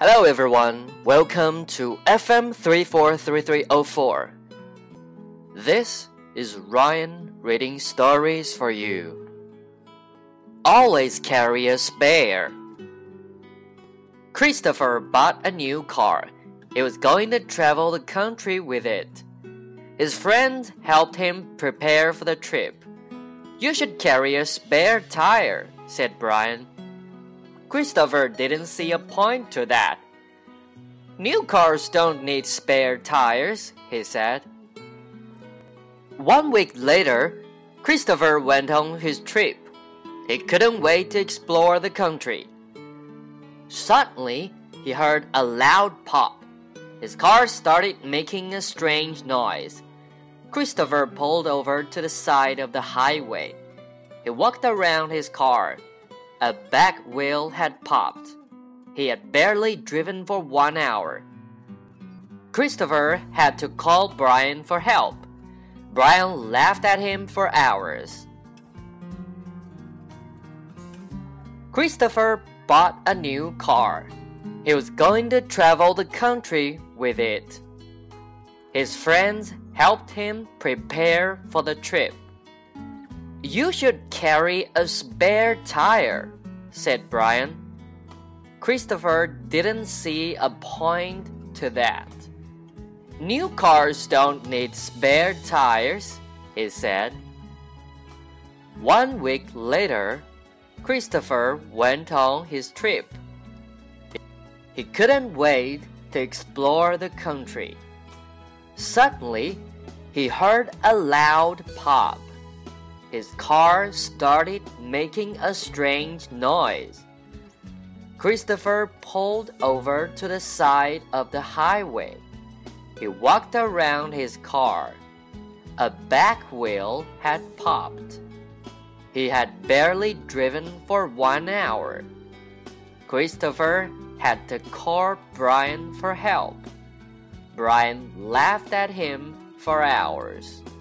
Hello everyone, welcome to FM 343304. This is Ryan reading stories for you. Always carry a spare. Christopher bought a new car. He was going to travel the country with it. His friends helped him prepare for the trip. You should carry a spare tire, said Brian. Christopher didn't see a point to that. New cars don't need spare tires, he said. 1 week later, Christopher went on his trip. He couldn't wait to explore the country. Suddenly, he heard a loud pop. His car started making a strange noise. Christopher pulled over to the side of the highway. He walked around his car.A back wheel had popped. He had barely driven for 1 hour. Christopher had to call Brian for help. Brian laughed at him for hours. Christopher bought a new car. He was going to travel the country with it. His friends helped him prepare for the trip.You should carry a spare tire, said Brian. Christopher didn't see a point to that. New cars don't need spare tires, he said. 1 week later, Christopher went on his trip. He couldn't wait to explore the country. Suddenly, he heard a loud pop.His car started making a strange noise. Christopher pulled over to the side of the highway. He walked around his car. A back wheel had popped. He had barely driven for 1 hour. Christopher had to call Brian for help. Brian laughed at him for hours.